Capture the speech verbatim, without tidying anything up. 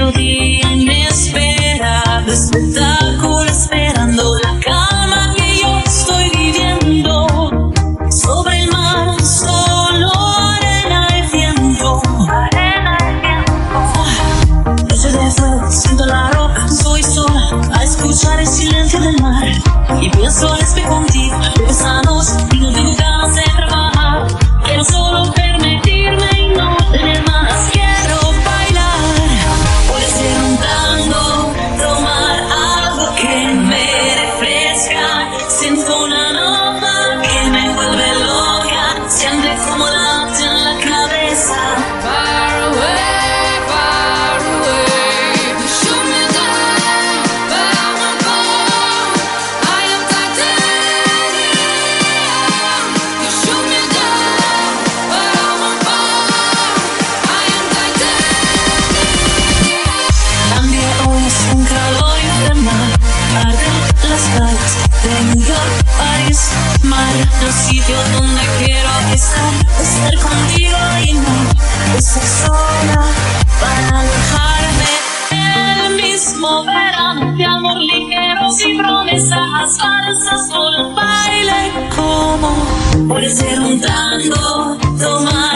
melodía inesperada, espectáculo esperando la calma que yo estoy viviendo. Sobre el mar, solo arena y viento. Arena y viento. Noche de fuego, siento la roca, soy sola a escuchar el silencio del mar. Y pienso al espejo contigo, besanos y no tengo ganas de trabajar. Quiero solo permitirme y no tener más. Quiero bailar, puede ser un tango, tomar algo que me refresca. Siento una nota que me vuelve loca, siente como late en la cabeza. Far away, far away, you shoot me down, but I won't fall. I am titanium. You shoot me down, but I won't fall. I am titanium. Cambia hoy es un calor infernal, arden las calles de New York, París, mar, el sitio donde quiero estar, estar contigo y no estar sola, para alejarme del mismo verano de amor ligero sin promesas falsas, solo baile como puede ser un tango, tomar